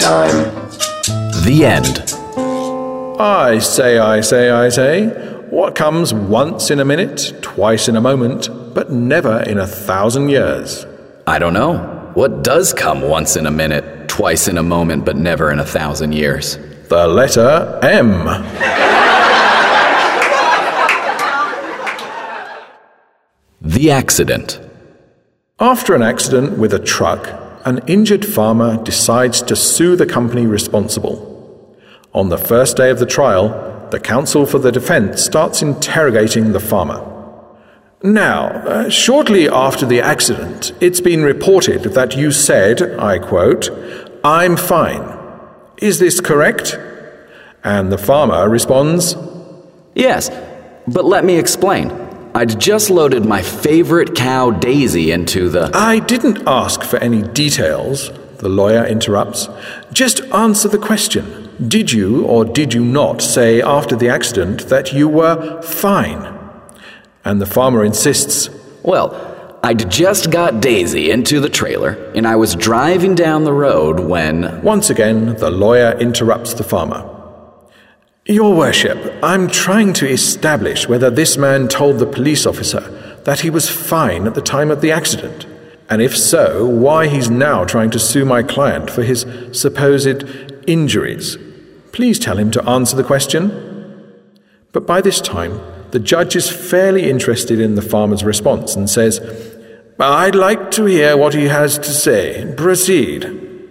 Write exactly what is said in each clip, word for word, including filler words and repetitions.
time. The end. I say, I say, I say, what comes once in a minute, twice in a moment, but never in a thousand years? I don't know. What does come once in a minute, twice in a moment, but never in a thousand years? The letter M. The accident. After an accident with a truck, an injured farmer decides to sue the company responsible. On the first day of the trial, the counsel for the defense starts interrogating the farmer. Now, uh, shortly after the accident, it's been reported that you said, I quote, "I'm fine. Is this correct?" And the farmer responds, Yes, but let me explain. I'd just loaded my favorite cow, Daisy, into the... "I didn't ask for any details," the lawyer interrupts. "Just answer the question. Did you or did you not say after the accident that you were fine?" And the farmer insists, Well, I'd just got Daisy into the trailer, and I was driving down the road when... Once again, the lawyer interrupts the farmer. "Your worship, I'm trying to establish whether this man told the police officer that he was fine at the time of the accident, and if so, why he's now trying to sue my client for his supposed injuries. Please tell him to answer the question." But by this time, the judge is fairly interested in the farmer's response and says, "I'd like to hear what he has to say. Proceed."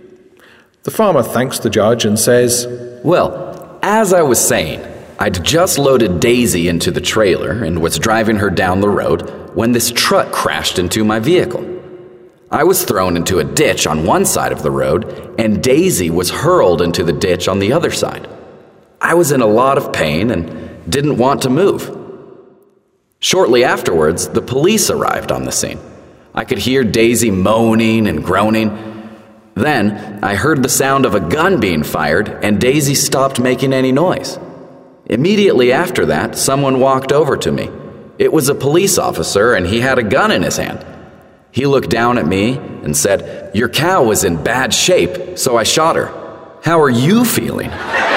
The farmer thanks the judge and says, Well, as I was saying, I'd just loaded Daisy into the trailer and was driving her down the road when this truck crashed into my vehicle. I was thrown into a ditch on one side of the road, and Daisy was hurled into the ditch on the other side. I was in a lot of pain and didn't want to move. Shortly afterwards, the police arrived on the scene. I could hear Daisy moaning and groaning. Then, I heard the sound of a gun being fired, and Daisy stopped making any noise. Immediately after that, someone walked over to me. It was a police officer, and he had a gun in his hand. He looked down at me and said, "Your cow was in bad shape, so I shot her. How are you feeling?"